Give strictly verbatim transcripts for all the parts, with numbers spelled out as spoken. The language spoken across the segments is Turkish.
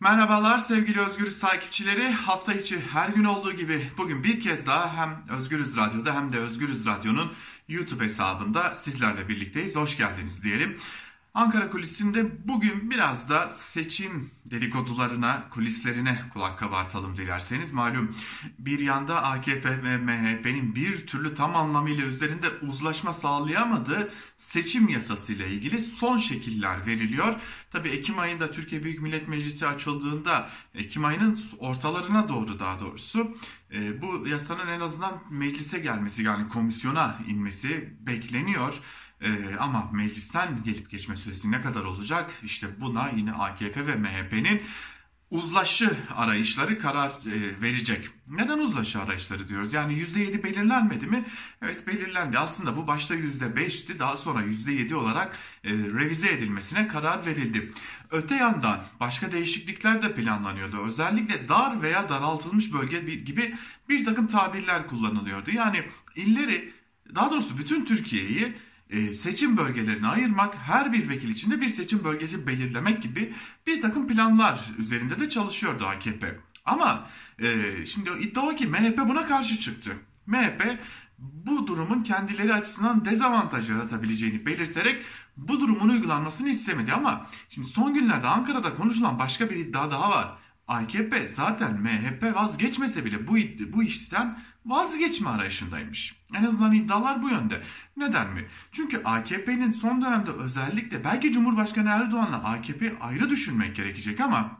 Merhabalar sevgili Özgürüz takipçileri. Hafta içi her gün olduğu gibi bugün bir kez daha hem Özgürüz Radyo'da hem de Özgürüz Radyo'nun YouTube hesabında sizlerle birlikteyiz. Hoş geldiniz diyelim. Ankara kulisinde bugün biraz da seçim dedikodularına, kulislerine kulak kabartalım dilerseniz. Malum bir yanda A K P ve M H P'nin bir türlü tam anlamıyla üzerinde uzlaşma sağlayamadığı seçim yasası ile ilgili son şekiller veriliyor. Tabii Ekim ayında Türkiye Büyük Millet Meclisi açıldığında, Ekim ayının ortalarına doğru daha doğrusu bu yasanın en azından meclise gelmesi, yani komisyona inmesi bekleniyor. Ee, ama meclisten gelip geçme süresi ne kadar olacak? İşte buna yine A K P ve M H P'nin uzlaşı arayışları karar e, verecek. Neden uzlaşı arayışları diyoruz? Yani yüzde yedi belirlenmedi mi? Evet, belirlendi. Aslında bu başta yüzde beşti. Daha sonra yüzde yedi olarak e, revize edilmesine karar verildi. Öte yandan başka değişiklikler de planlanıyordu. Özellikle dar veya daraltılmış bölge gibi bir takım tabirler kullanılıyordu. Yani illeri, daha doğrusu bütün Türkiye'yi seçim bölgelerine ayırmak, her bir vekil için de bir seçim bölgesi belirlemek gibi bir takım planlar üzerinde de çalışıyordu A K P. Ama e, şimdi iddia o ki M H P buna karşı çıktı. M H P bu durumun kendileri açısından dezavantaj yaratabileceğini belirterek bu durumun uygulanmasını istemedi. Ama şimdi son günlerde Ankara'da konuşulan başka bir iddia daha var. A K P zaten M H P vazgeçmese bile bu, bu işten vazgeçme arayışındaymış. En azından iddialar bu yönde. Neden mi? Çünkü A K P'nin son dönemde özellikle, belki Cumhurbaşkanı Erdoğan'la A K P'yi ayrı düşünmek gerekecek ama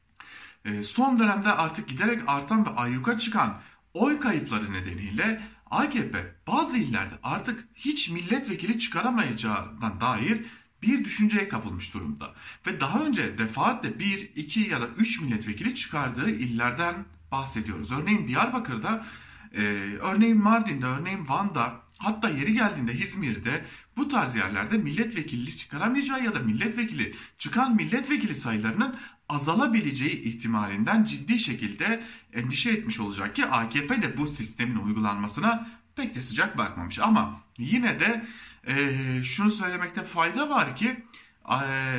son dönemde artık giderek artan ve ayyuka çıkan oy kayıpları nedeniyle A K P bazı illerde artık hiç milletvekili çıkaramayacağından dair bir düşünceye kapılmış durumda. Ve daha önce defaatle bir, iki ya da üç milletvekili çıkardığı illerden bahsediyoruz. Örneğin Diyarbakır'da, e, örneğin Mardin'de, örneğin Van'da, hatta yeri geldiğinde İzmir'de bu tarz yerlerde milletvekili çıkaramayacağı ya da milletvekili çıkan milletvekili sayılarının azalabileceği ihtimalinden ciddi şekilde endişe etmiş olacak ki A K P de bu sistemin uygulanmasına pek de sıcak bakmamış. Ama yine de e, şunu söylemekte fayda var ki e,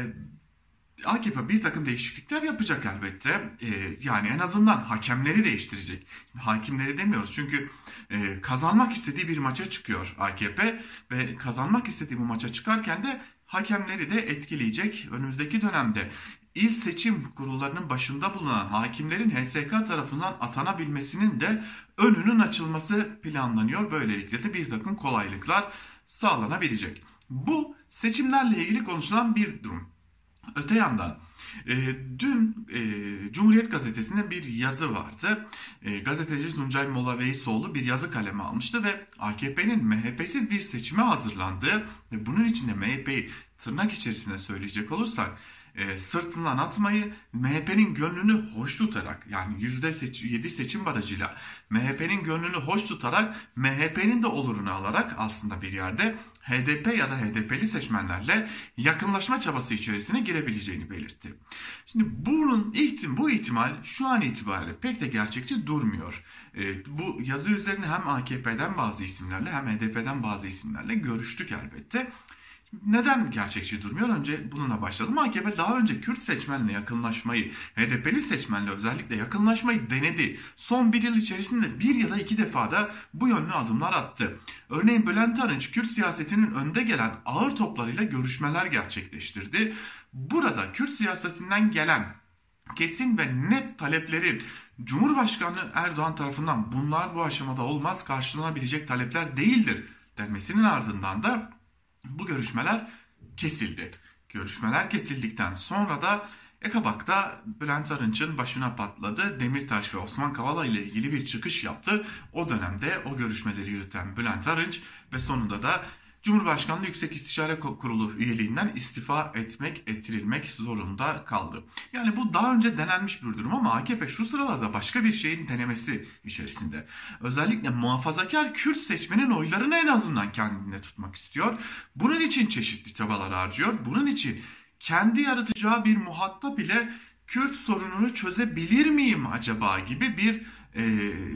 A K P bir takım değişiklikler yapacak elbette. E, yani en azından hakemleri değiştirecek. Hakimleri demiyoruz çünkü e, kazanmak istediği bir maça çıkıyor A K P ve kazanmak istediği bu maça çıkarken de hakemleri de etkileyecek önümüzdeki dönemde. İl seçim kurullarının başında bulunan hakimlerin H S K tarafından atanabilmesinin de önünün açılması planlanıyor. Böylelikle de bir takım kolaylıklar sağlanabilecek. Bu seçimlerle ilgili konuşulan bir durum. Öte yandan e, dün e, Cumhuriyet Gazetesi'nde bir yazı vardı. E, gazeteci Tuncay Molla-Veysoğlu bir yazı kaleme almıştı ve A K P'nin M H P'siz bir seçime hazırlandığı ve bunun içinde M H P'yi tırnak içerisinde söyleyecek olursak E, sırtından atmayı, M H P'nin gönlünü hoş tutarak, yani yüzde yedi seçim barajıyla M H P'nin gönlünü hoş tutarak, M H P'nin de olurunu alarak aslında bir yerde H D P ya da H D P'li seçmenlerle yakınlaşma çabası içerisine girebileceğini belirtti. Şimdi bunun ihtim bu ihtimal şu an itibariyle pek de gerçekçi durmuyor. E, bu yazı üzerine hem A K P'den bazı isimlerle hem H D P'den bazı isimlerle görüştük elbette. Neden gerçekçi durmuyor? Önce bununla başladım. A K P daha önce Kürt seçmenle yakınlaşmayı, H D P'li seçmenle özellikle yakınlaşmayı denedi. Son bir yıl içerisinde bir ya da iki defa da bu yönlü adımlar attı. Örneğin Bülent Arınç, Kürt siyasetinin önde gelen ağır toplarıyla görüşmeler gerçekleştirdi. Burada Kürt siyasetinden gelen kesin ve net taleplerin Cumhurbaşkanı Erdoğan tarafından bunlar bu aşamada olmaz, karşılanabilecek talepler değildir denmesinin ardından da bu görüşmeler kesildi. Görüşmeler kesildikten sonra da Ekabak'ta Bülent Arınç'ın başına patladı. Demirtaş ve Osman Kavala ile ilgili bir çıkış yaptı. O dönemde o görüşmeleri yürüten Bülent Arınç ve sonunda da Cumhurbaşkanlığı Yüksek İstişare Kurulu üyeliğinden istifa etmek, ettirilmek zorunda kaldı. Yani bu daha önce denenmiş bir durum ama A K P şu sıralarda başka bir şeyin denemesi içerisinde. Özellikle muhafazakar Kürt seçmenin oylarını en azından kendine tutmak istiyor. Bunun için çeşitli çabalar harcıyor. Bunun için kendi yaratacağı bir muhatap ile Kürt sorununu çözebilir miyim acaba gibi bir e,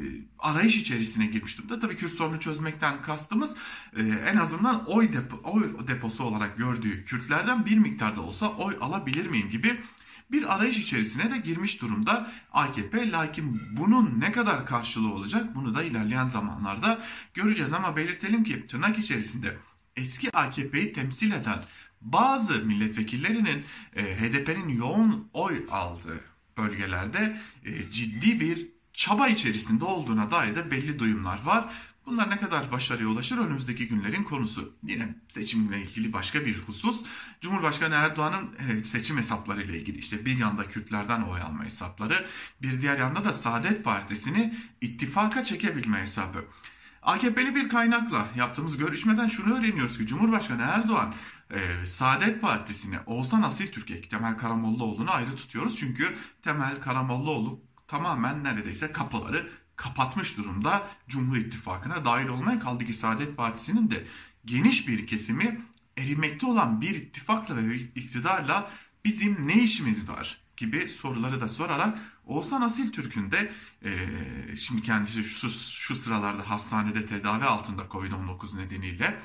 arayış içerisine girmiş durumda. Tabii Kürt sorunu çözmekten kastımız e, en azından oy, depo, oy deposu olarak gördüğü Kürtlerden bir miktarda olsa oy alabilir miyim gibi bir arayış içerisine de girmiş durumda A K P. Lakin bunun ne kadar karşılığı olacak bunu da ilerleyen zamanlarda göreceğiz. Ama belirtelim ki tırnak içerisinde eski A K P'yi temsil eden bazı milletvekillerinin e, H D P'nin yoğun oy aldığı bölgelerde e, ciddi bir çaba içerisinde olduğuna dair de belli duyumlar var. Bunlar ne kadar başarıya ulaşır önümüzdeki günlerin konusu. Yine seçimle ilgili başka bir husus. Cumhurbaşkanı Erdoğan'ın seçim hesapları ile ilgili işte bir yanda Kürtlerden oy alma hesapları, bir diğer yanda da Saadet Partisi'ni ittifaka çekebilme hesabı. A K P'li bir kaynakla yaptığımız görüşmeden şunu öğreniyoruz ki Cumhurbaşkanı Erdoğan e, Saadet Partisi'ni Oğuzhan Asiltürk'e, Temel Karamollaoğlu'nu ayrı tutuyoruz. Çünkü Temel Karamollaoğlu tamamen neredeyse kapıları kapatmış durumda Cumhur İttifakı'na dahil olmaya, kaldı ki Saadet Partisi'nin de geniş bir kesimi erimekte olan bir ittifakla ve iktidarla bizim ne işimiz var gibi soruları da sorarak Oğuzhan Asiltürk'ün de e, şimdi kendisi şu, şu sıralarda hastanede tedavi altında Covid on dokuz nedeniyle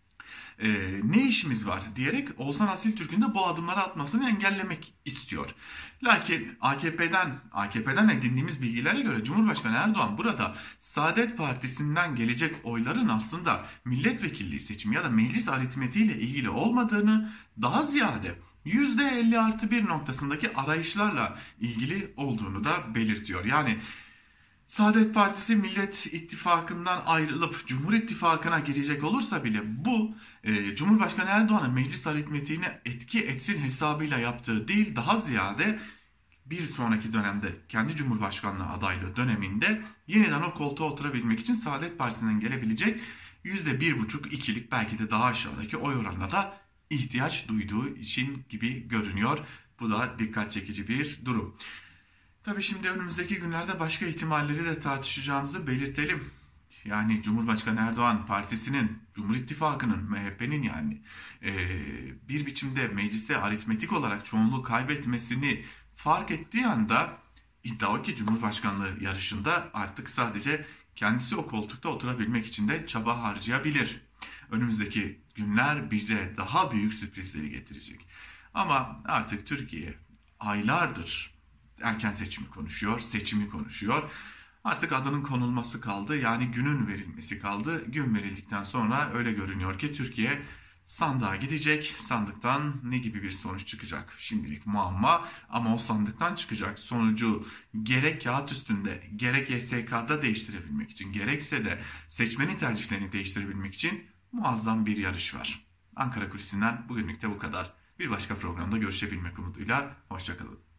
e, ne işimiz var diyerek Oğuzhan Asiltürk'ün de bu adımları atmasını engellemek istiyor. Lakin A K P'den A K P'den edindiğimiz bilgilere göre Cumhurbaşkanı Erdoğan burada Saadet Partisi'nden gelecek oyların aslında milletvekilliği seçimi ya da meclis aritmetiğiyle ilgili olmadığını, daha ziyade yüzde elli artı bir noktasındaki arayışlarla ilgili olduğunu da belirtiyor. Yani Saadet Partisi Millet İttifakı'ndan ayrılıp Cumhur İttifakı'na girecek olursa bile bu e, Cumhurbaşkanı Erdoğan'ın meclis aritmetiğine etki etsin hesabıyla yaptığı değil, daha ziyade bir sonraki dönemde kendi Cumhurbaşkanlığı adaylığı döneminde yeniden o koltuğa oturabilmek için Saadet Partisi'nden gelebilecek yüzde bir buçuk ikilik belki de daha aşağıdaki oy oranına da ihtiyaç duyduğu için gibi görünüyor. Bu da dikkat çekici bir durum. Tabii şimdi önümüzdeki günlerde başka ihtimalleri de tartışacağımızı belirtelim. Yani Cumhurbaşkanı Erdoğan Partisi'nin, Cumhur İttifakı'nın, M H P'nin yani e, bir biçimde mecliste aritmetik olarak çoğunluğu kaybetmesini fark ettiği anda iddia o ki Cumhurbaşkanlığı yarışında artık sadece kendisi o koltukta oturabilmek için de çaba harcayabilir. Önümüzdeki günler bize daha büyük sürprizleri getirecek. Ama artık Türkiye aylardır erken seçimi konuşuyor, seçimi konuşuyor. Artık adının konulması kaldı, yani günün verilmesi kaldı. Gün verildikten sonra öyle görünüyor ki Türkiye sandığa gidecek. Sandıktan ne gibi bir sonuç çıkacak? Şimdilik muamma, ama o sandıktan çıkacak sonucu gerek kağıt üstünde, gerek Y S K'da değiştirebilmek için, gerekse de seçmenin tercihlerini değiştirebilmek için muazzam bir yarış var. Ankara Kulisi'nden bugünlük de bu kadar. Bir başka programda görüşebilmek umuduyla, hoşça kalın.